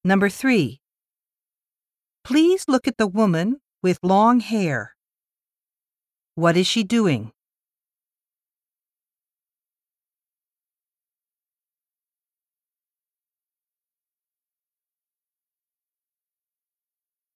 Number 3. Please look at the woman with long hair. What is she doing?